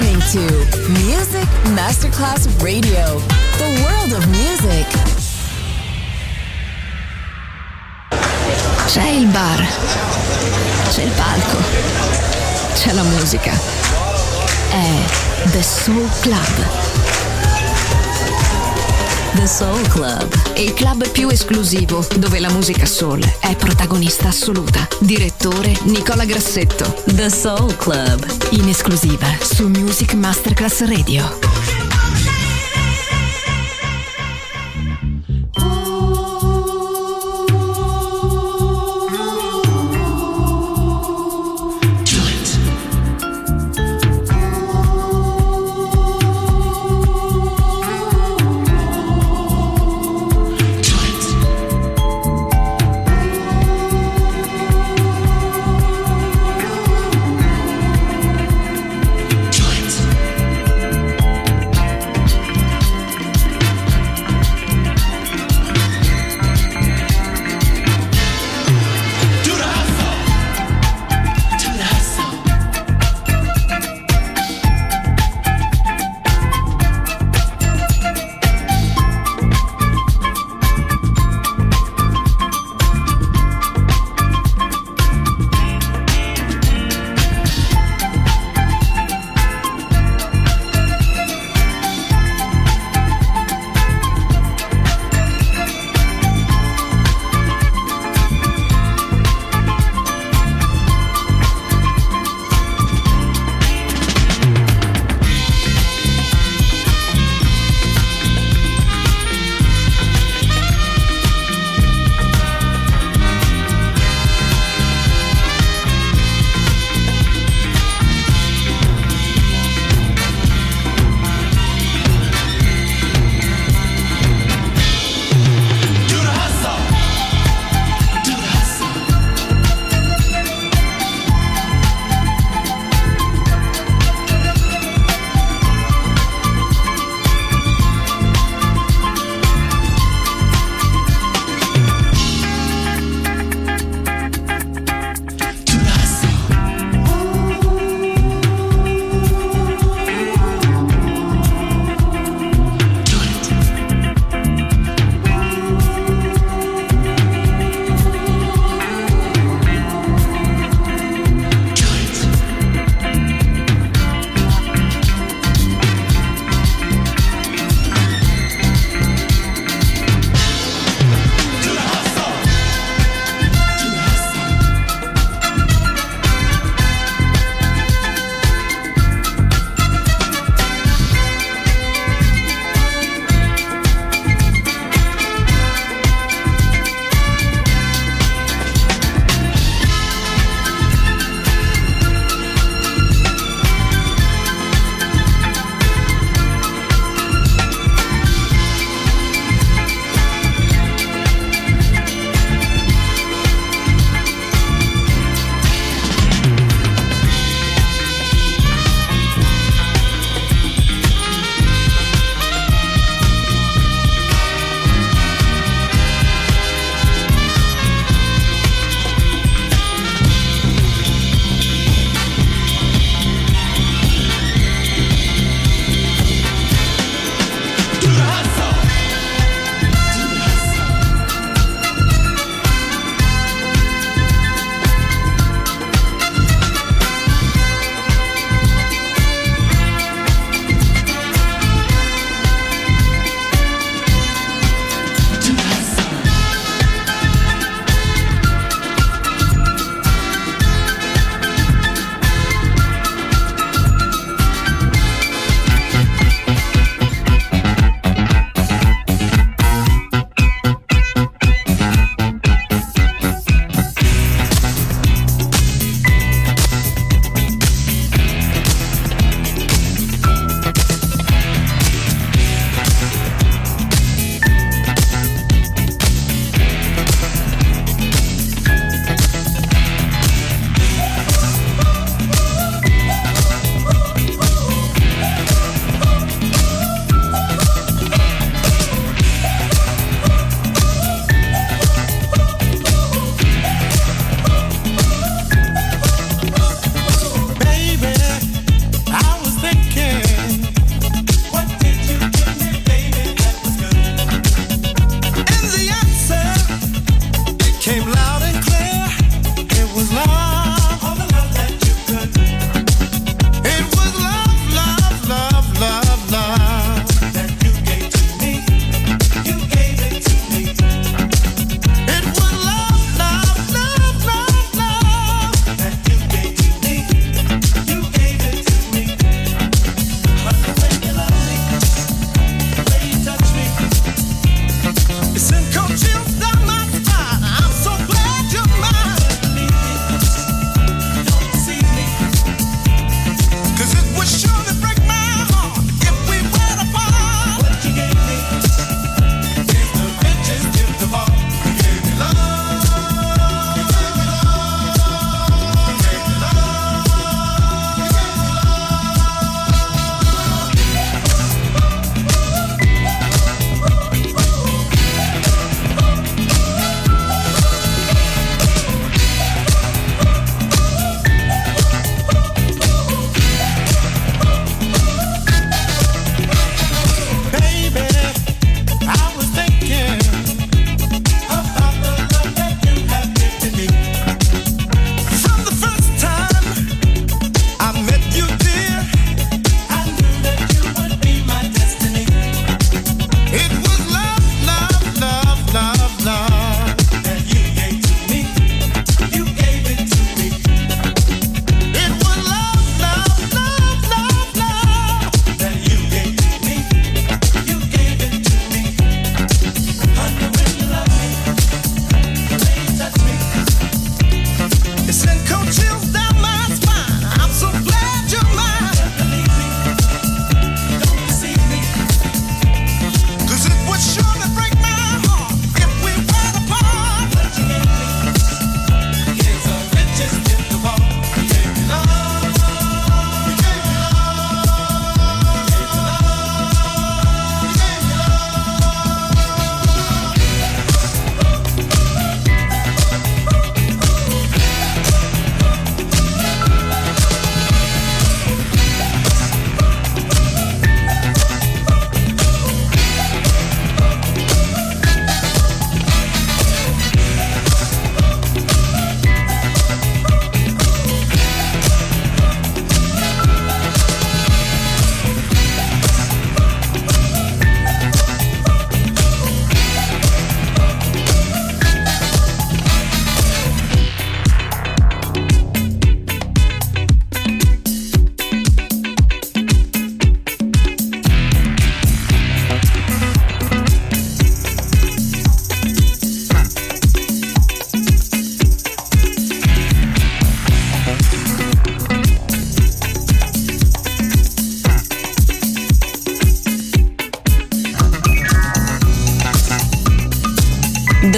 listening to Music Masterclass Radio, the world of music. C'è il bar, c'è il palco, c'è la musica. È The Soul Club. The Soul Club, Il club più esclusivo dove la musica soul è protagonista assoluta. Direttore Nicola Grassetto. The Soul Club, In esclusiva su Music Masterclass Radio.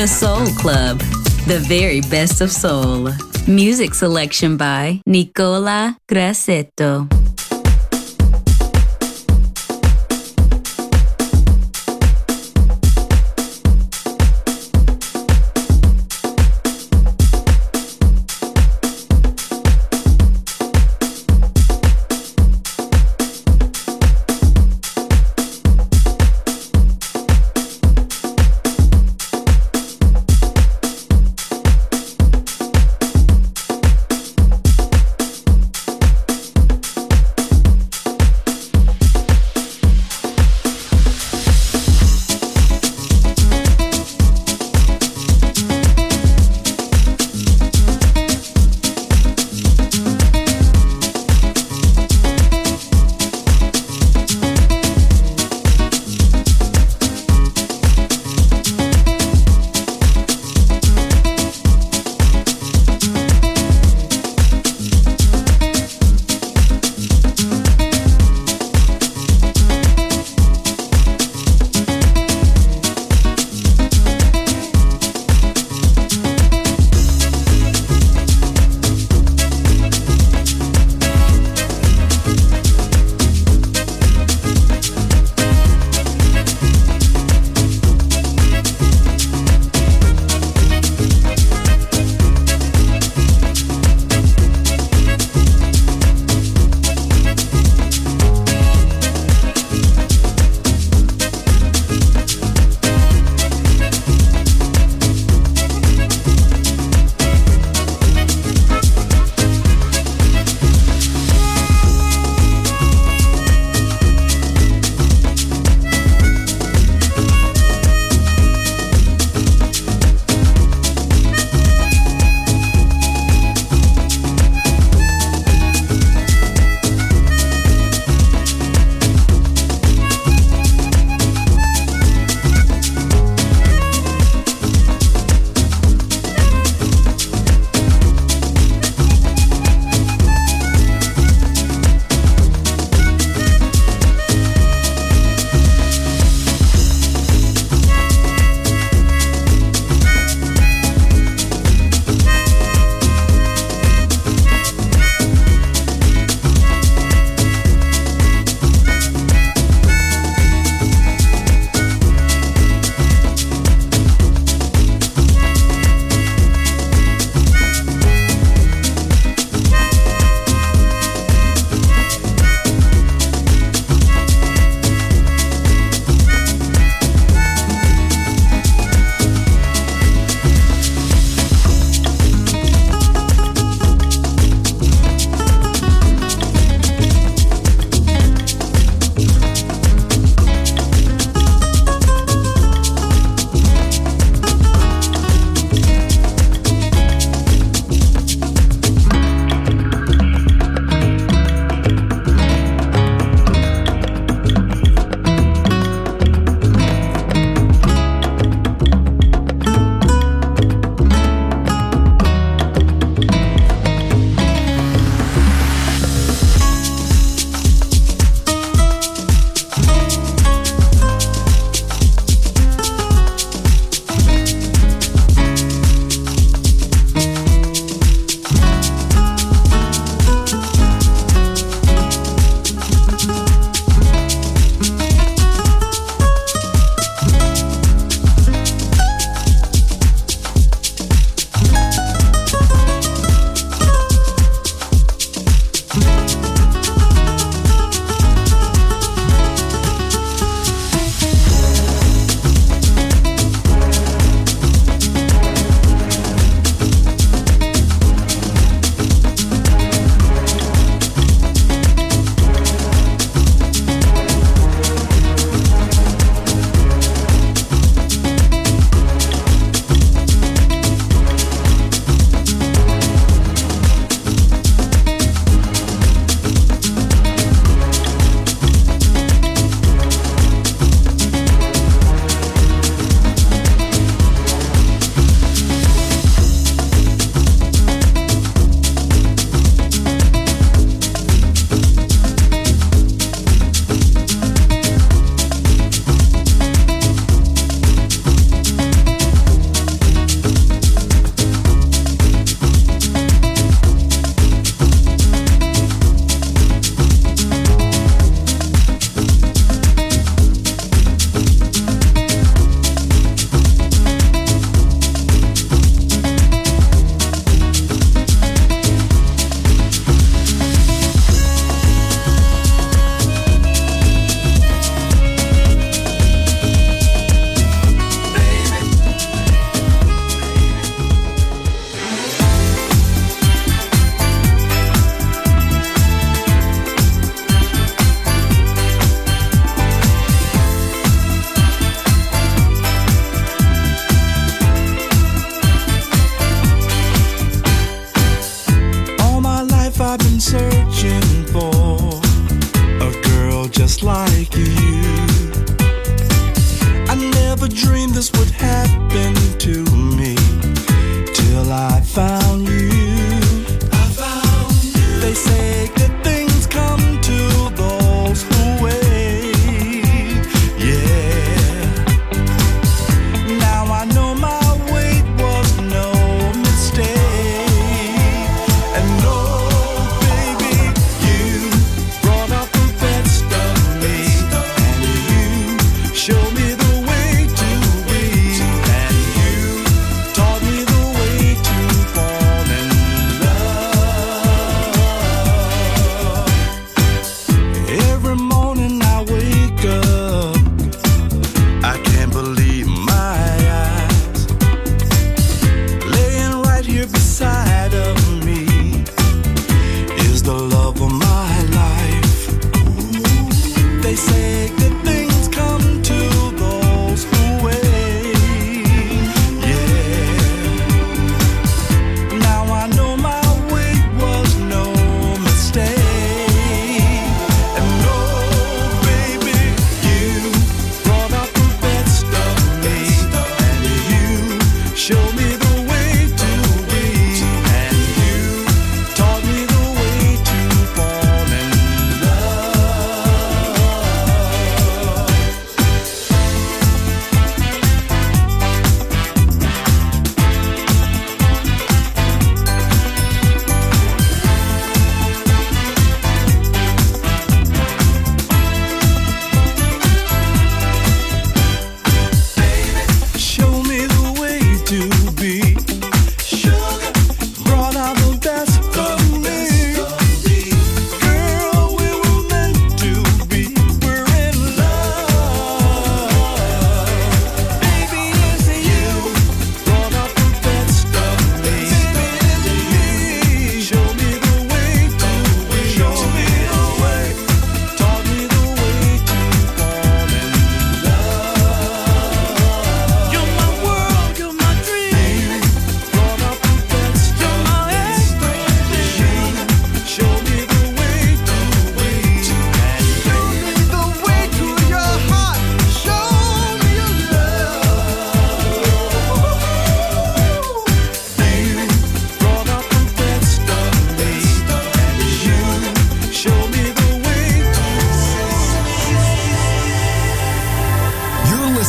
The Soul Club, the very best of soul. Music selection by Nicola Grassetto.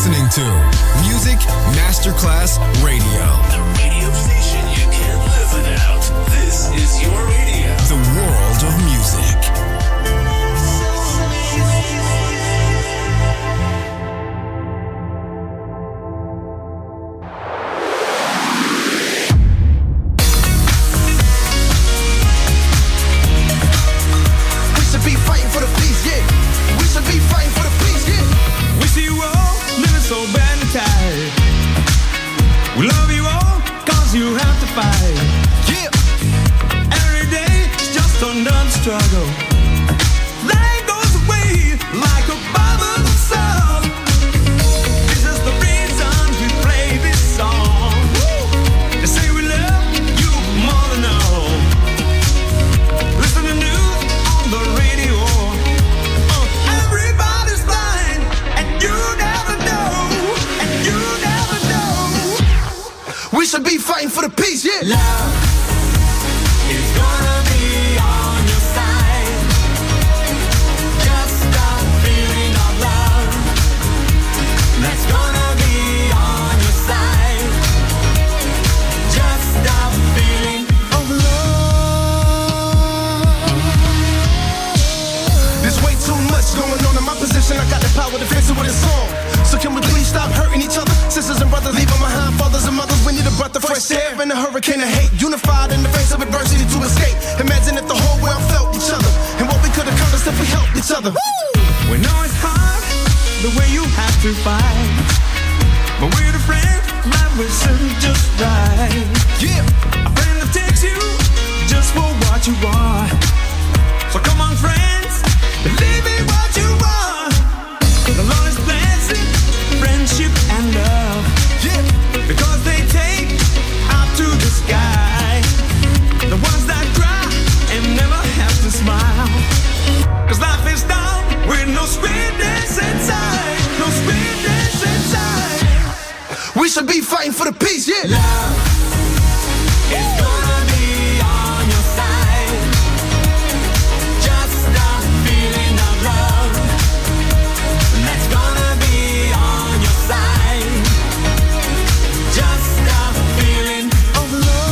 listening to Music Masterclass Radio. The radio station you can't live without. This is your radio. The world of music. We should be fighting for the peace, yeah. We should be fighting for the peace, yeah. We see you all living so bad and tired. We love you all, cause you have to fight. Yeah. Every day is just another struggle. Life goes away like a bubble of salt. This is the reason we play this song. They say we love you more than all. Listen to news on the radio. Everybody's blind, and you never know, and you never know. We should be fighting for the peace, yeah. Love is gonna be on your side. Just the feeling of love that's gonna be on your side. Just the feeling of love. There's way too much going on in my position. I got the power to fix it with a song. So can we please stop hurting each other? Sisters and brothers leaving behind fathers and mothers. We need a breath of fresh air in a hurricane of hate. Unified in the face of adversity to escape. Imagine if the whole world felt each other and what we could accomplish if we helped each other. We know it's hard, the way you have to fight. But we're the friends, life will serve just right. Yeah. A friend that takes you just for what you are. So come on, friends, believe in what you are. The Lord is blessing friendship and love. Yeah. Because they take out to the sky. The ones that cry and never have to smile. Cause life is down with no sweetness inside. No sweetness inside. We should be fighting for the peace, yeah. Love is gonna be on your side. Just the feeling of love that's gonna be on your side. Just the feeling of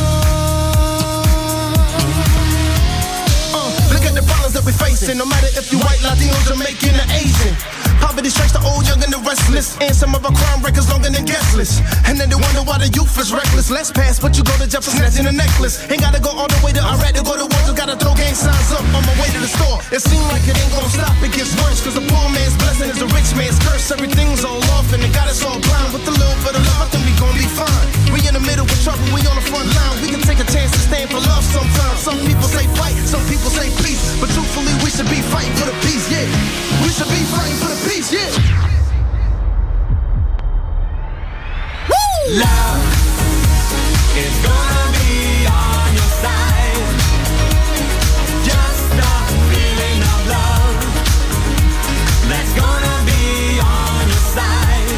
love. Look at the problems that we're facing. No matter if you white, Latino, Jamaican, or Asian. Poverty strikes the old, young, and the restless. And some of our crime records longer than guest lists. And then they wonder why the youth is reckless. Let's pass, but you go to jail for snatching a necklace. Ain't gotta go all the way to Iraq to go to war. Just gotta throw gang signs up on my way to the store. It seems like it ain't gonna stop, it gets worse. Cause a poor man's blessing is a rich man's curse. Everything's all off and it got us all blind. With a little bit of love, I think we gon' be fine. We in the middle with trouble, we on the front line. We can take a chance to stand for love sometimes. Some people say fight, some people say peace. But truthfully, we should be fighting for the peace, yeah. We should be fighting for the peace, yeah. Love is gonna be on your side. Just the feeling of love that's gonna be on your side.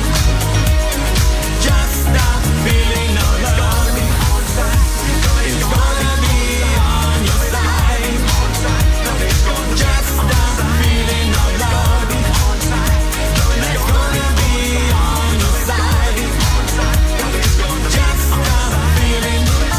Just the feeling of love is gonna be on your side. Just the feeling of love that's gonna be on your side. Just the feeling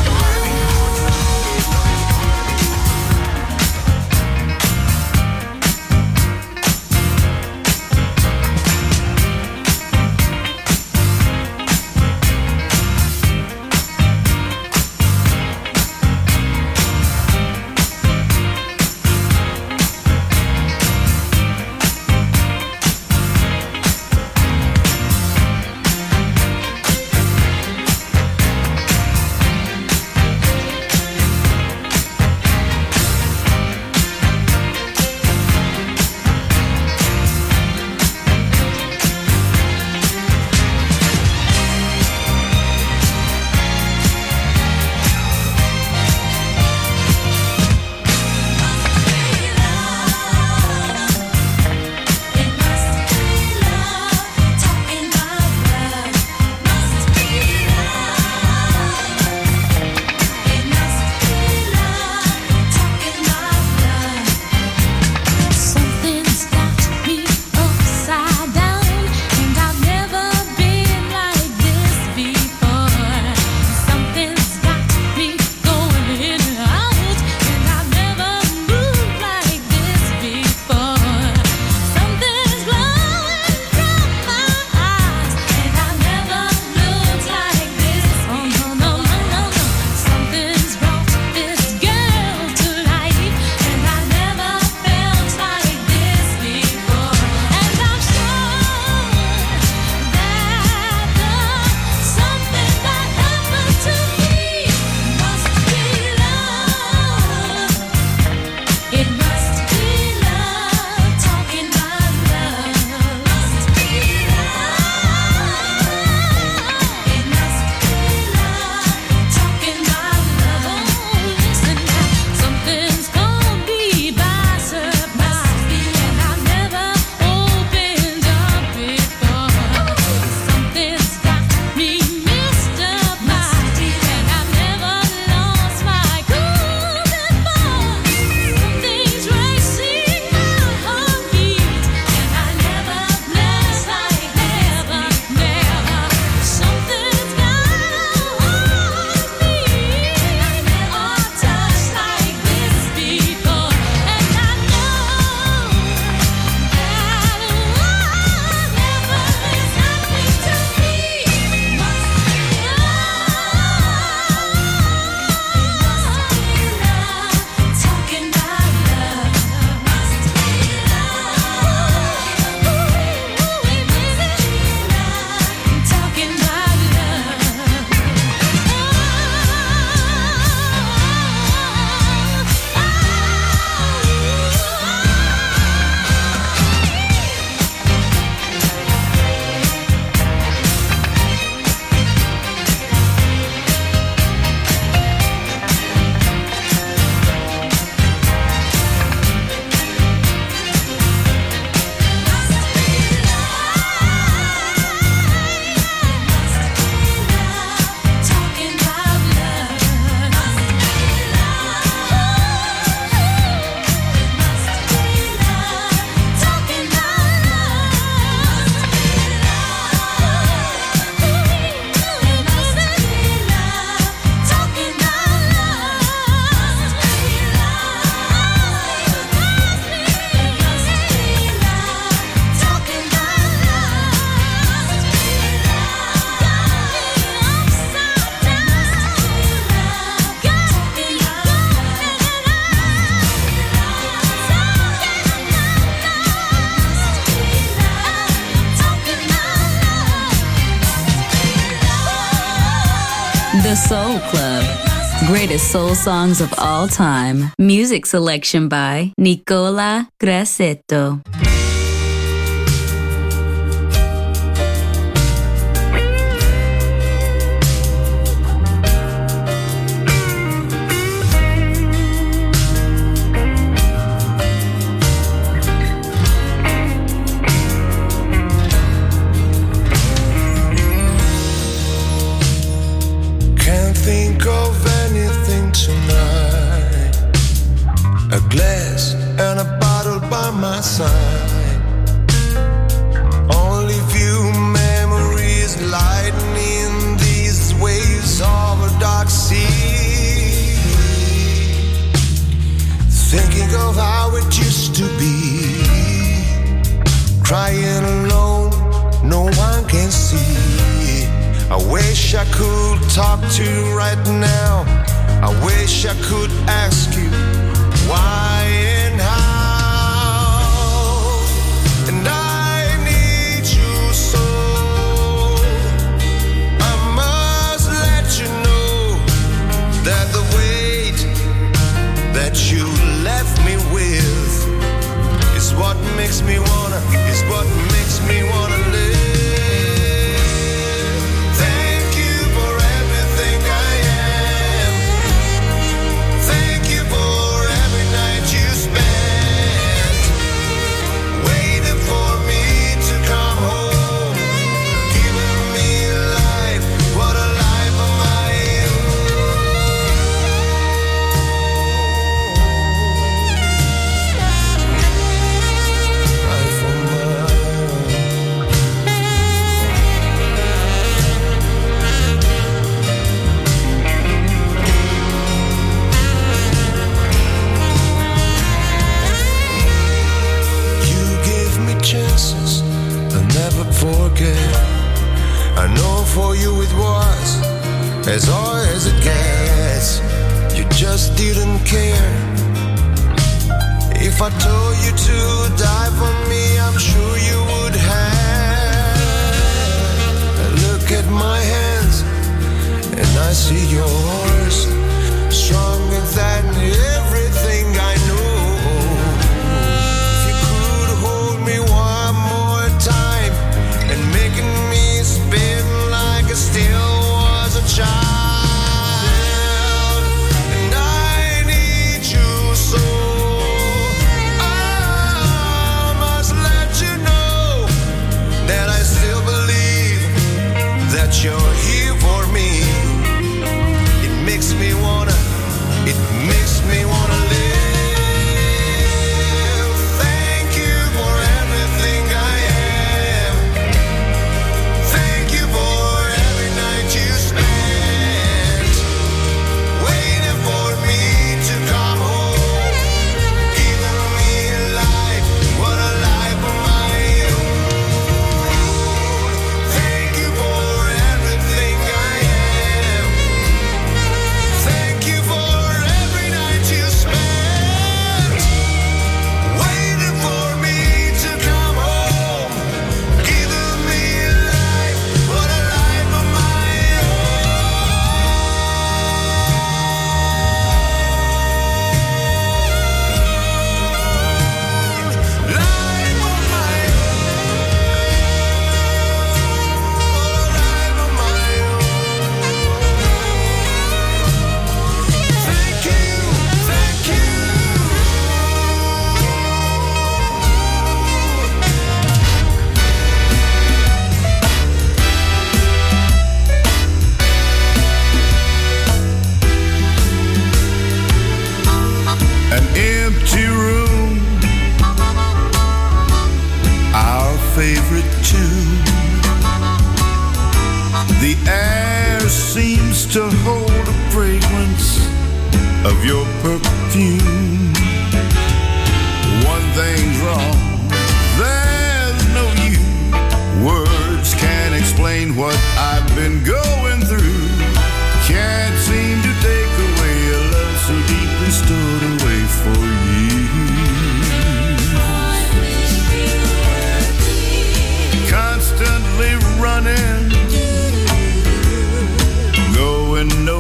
Soul Club. Greatest soul songs of all time. Music selection by Nicola Grassetto. Think of anything tonight. A glass and a bottle by my side. Only few memories lightening these waves of a dark sea. Thinking of how it used to be. Crying alone, no one can see. I wish I could talk to you right now. I wish I could ask you why and how. And I need you so. I must let you know that the weight that you left me with is what makes me wanna live. Forget. I know for you it was as hard as it gets. You just didn't care. If I told you to die for me, I'm sure you would have. Look at my hands and I see yours, stronger than everything I know. If you could hold me one more time and making me spin like I still was a child. And I need you so. I must let you know that I still believe that you're here for me. It makes me wanna live. Thank you for everything I am. Thank you for every night you spent waiting for me to come home, giving me life, what a life of my own. Thank you for everything I am. Thank you for every night you spent waiting for me to come home, giving me life, what a life of my own. Life of my own. Thank you, thank you. An empty room, our favorite tune. The air seems to hold a fragrance of your perfume. One thing's wrong, there's no you. Words can't explain what I've been going through. Can't seem to take away a love so deeply stored away for years. Constantly running, going nowhere.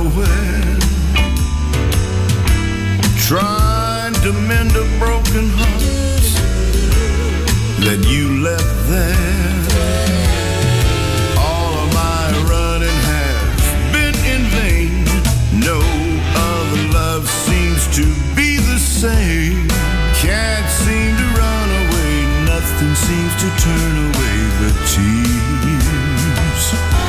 seems to turn away the tears.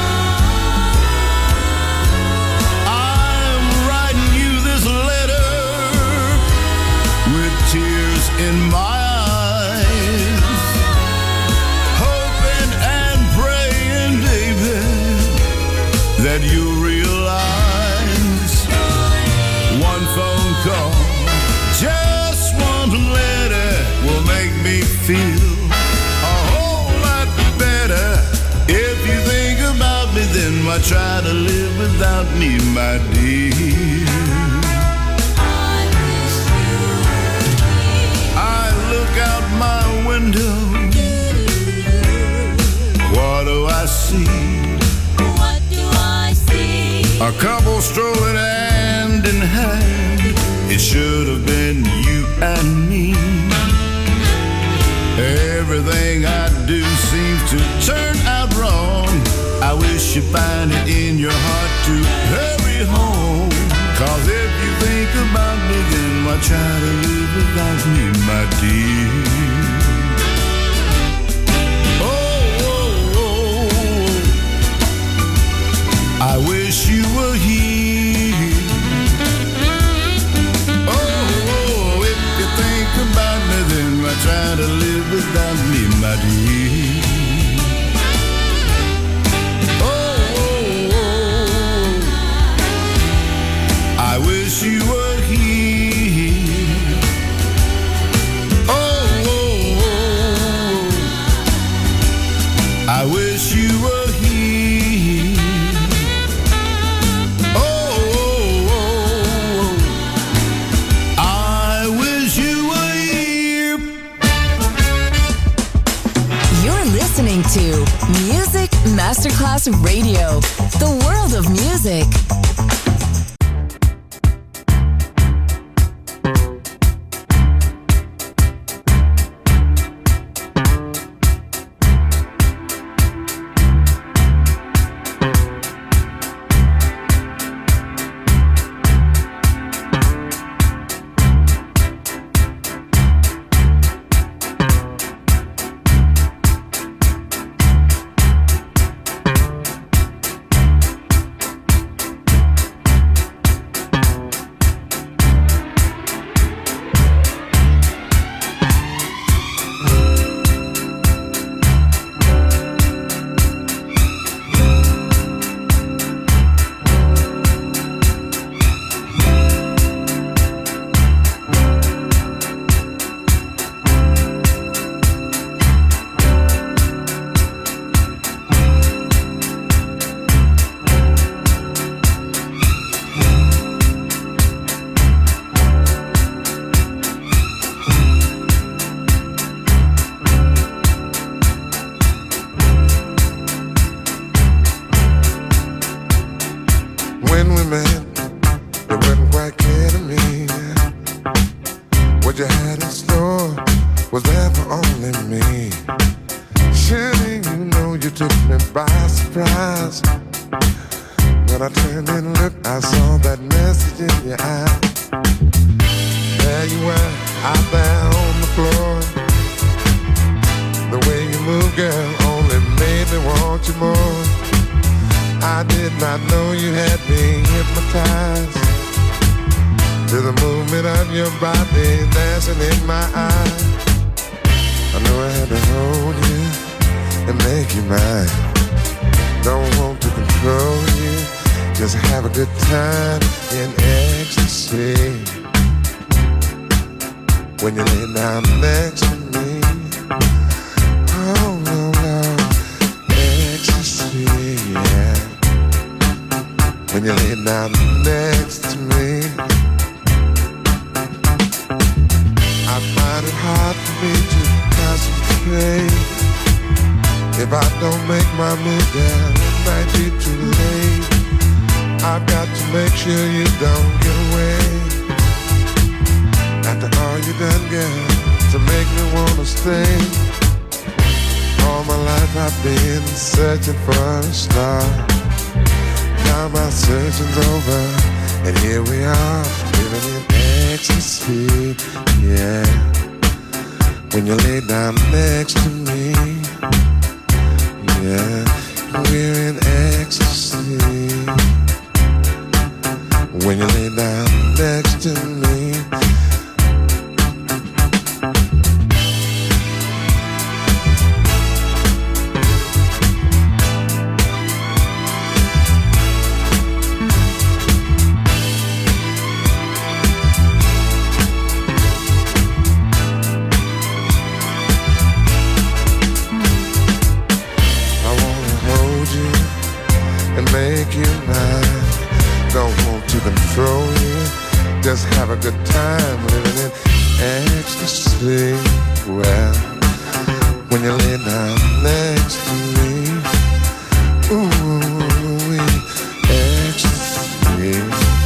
I'm writing you this letter with tears in my eyes, hoping and praying, baby, that you realize one phone call, just one letter will make me feel a whole lot better. If you think about me, then why try to live without me, my dear? I look out my window. What do I see? What do I see? A couple strolling hand in hand. It should have been you and me. Everything I do seems to turn out wrong. I wish you find it in your heart to hurry home. 'Cause if you think about me, then why try to live without me, my dear? I wish you were here. Oh, if you think about me, then why try to live without me, my dear? Oh, I wish you were here. Oh, I wish you were here. Listening to Music Masterclass Radio, the world of music. Here we are, living in ecstasy, yeah. when you lay down next to me. Yeah, we're in ecstasy when you lay down next to me. Make you mine. Don't want to control you. Just have a good time living in ecstasy. Well, when you lay down next to me, ooh, ecstasy.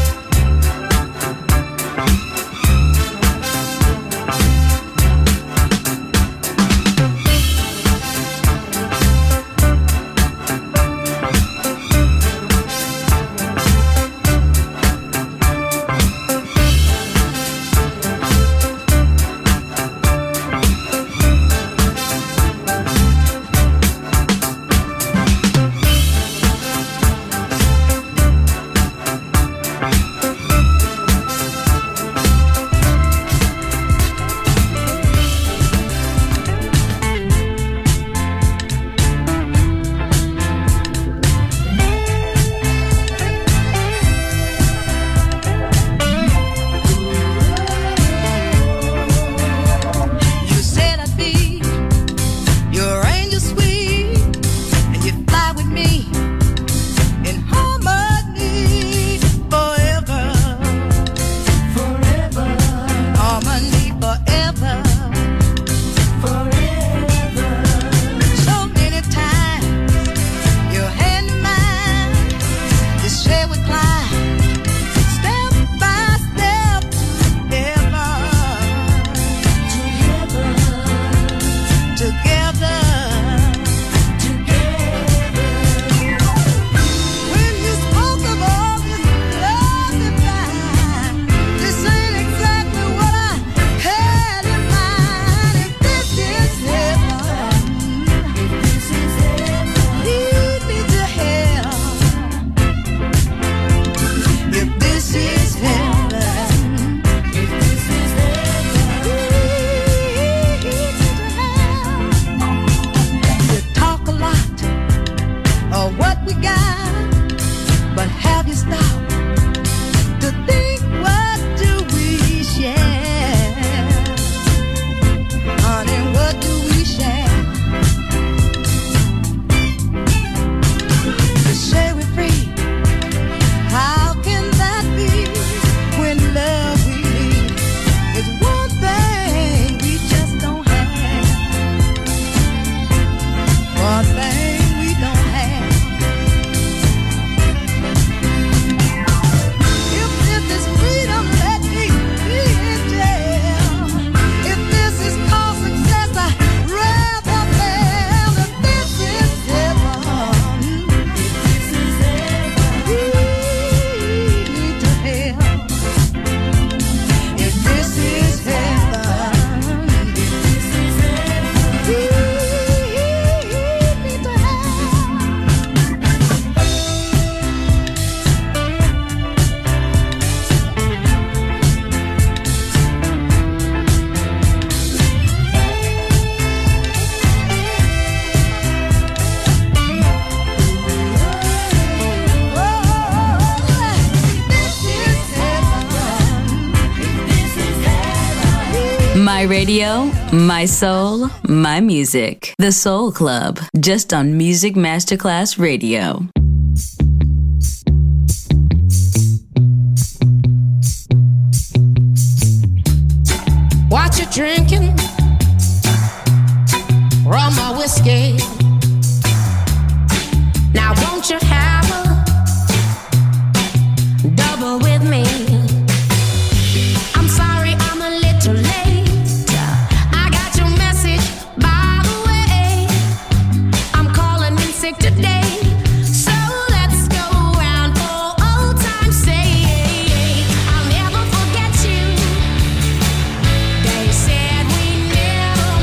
My radio, my soul, my music. The Soul Club, just on Music Masterclass Radio. What you drinking? Rum or whiskey? Now won't you have a double with me? I'm sorry I'm a little late. I got your message, by the way. I'm calling in sick today. So let's go round for old time's sake. I'll never forget you. They said we never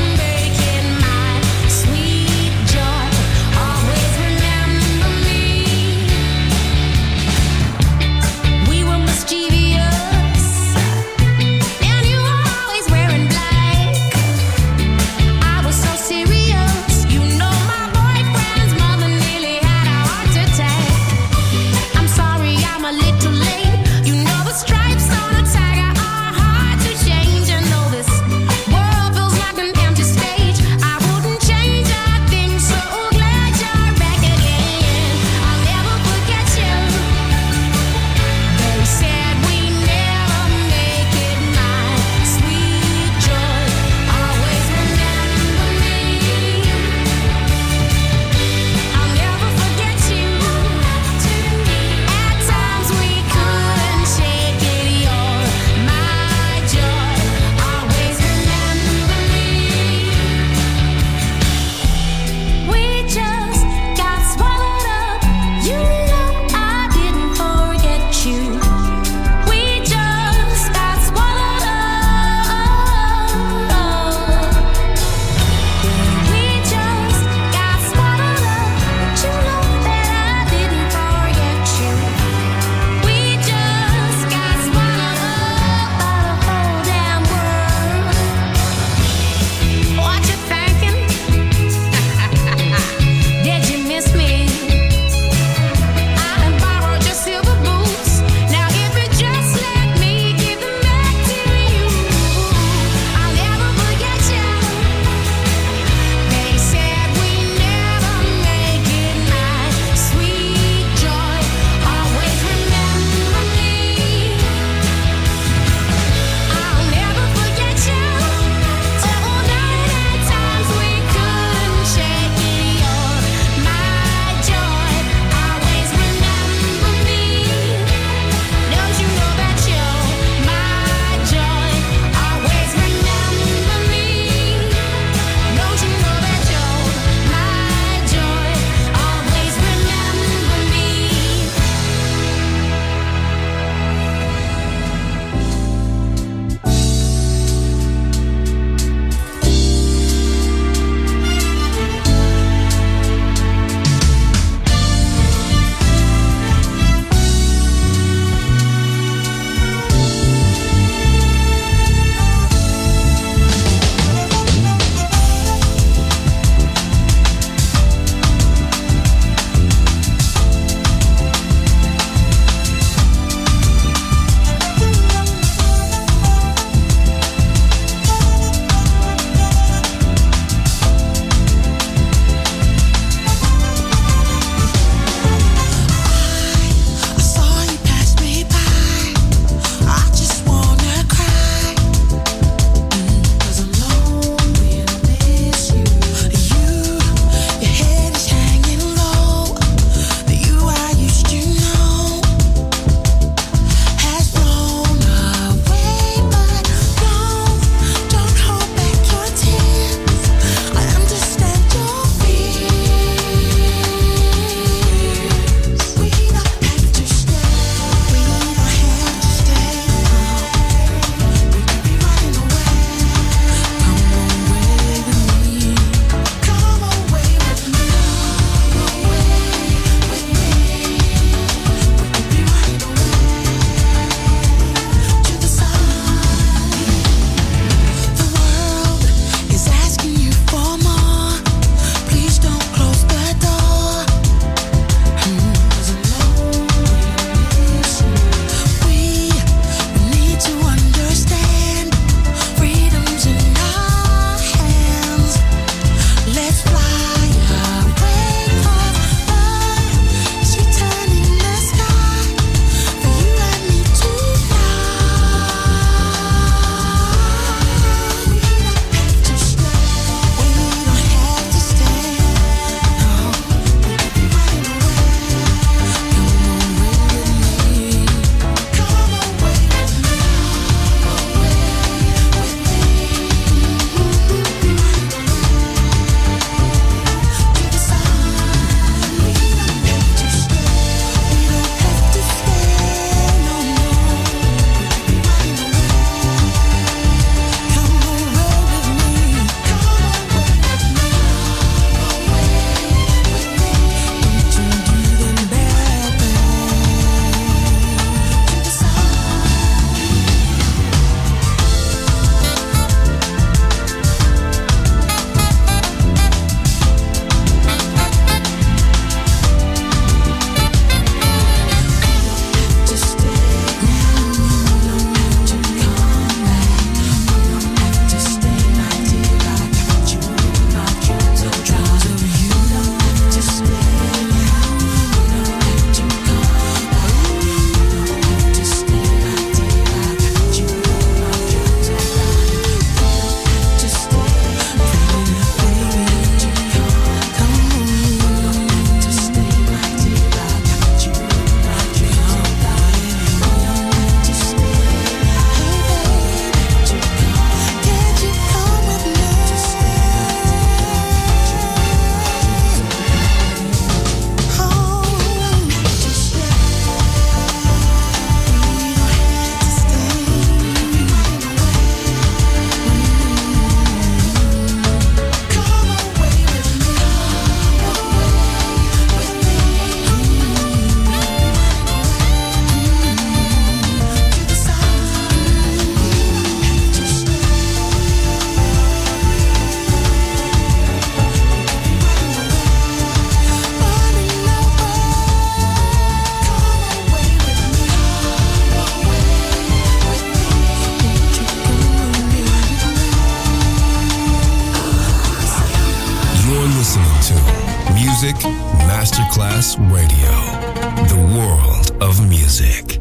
Music Masterclass Radio. The world of music.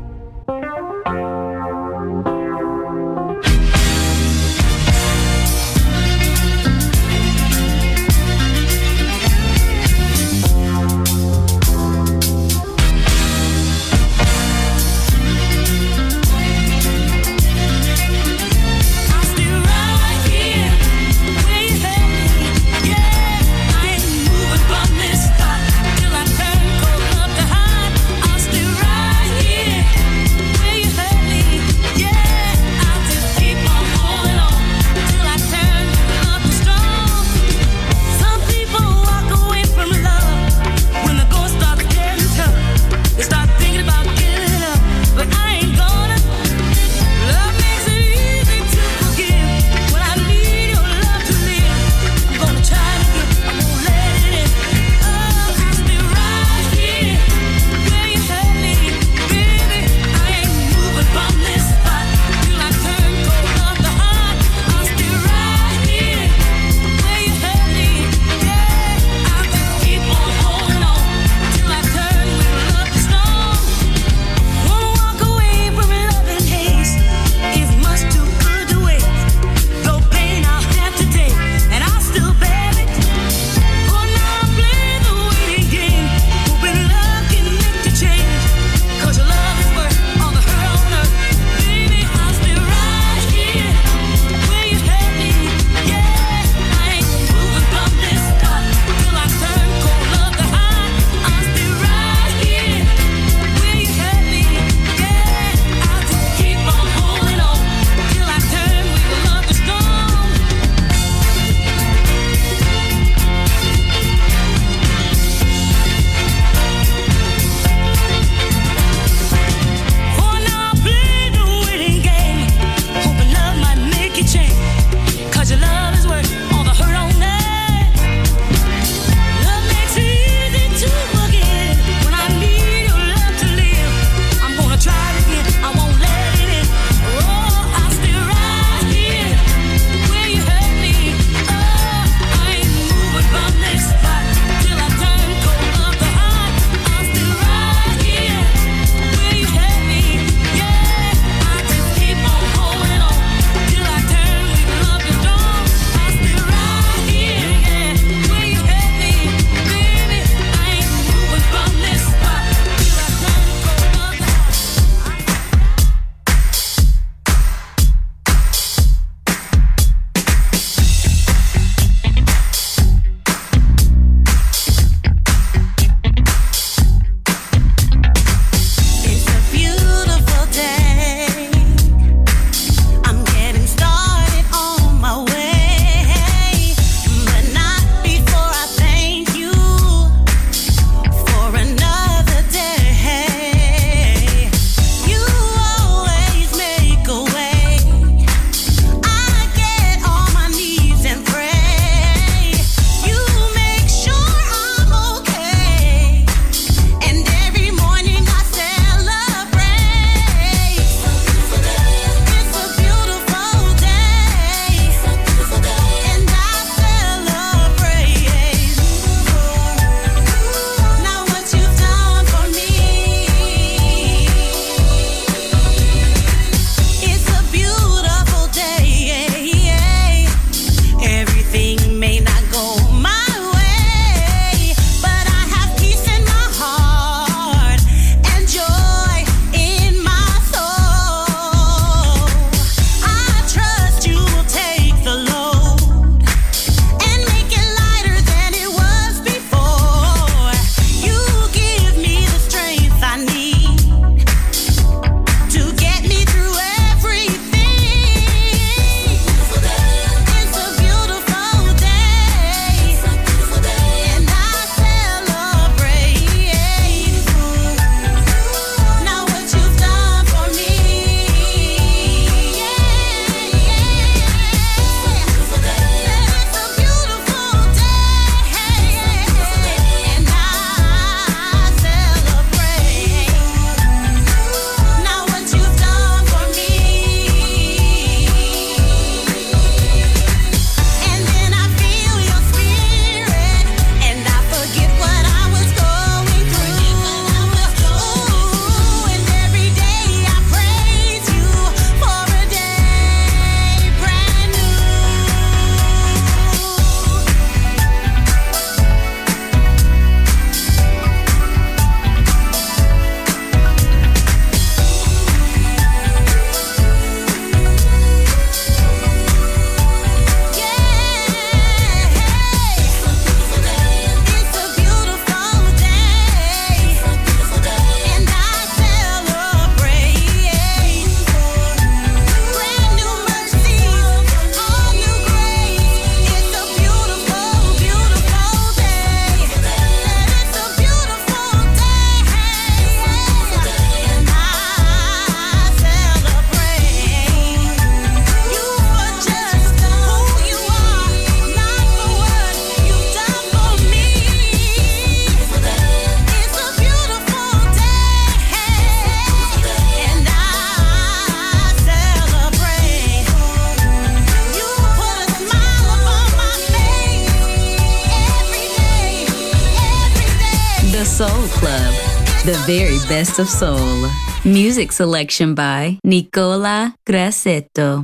Till I turn cold enough to hide, I'll stay right here. Soul Club, the very best of soul. Music selection by Nicola Grassetto.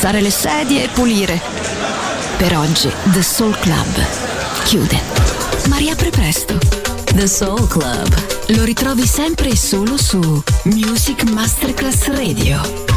alzare le sedie e pulire. Per oggi The Soul Club chiude, ma riapre presto. The Soul Club. Lo ritrovi sempre e solo su Music Masterclass Radio.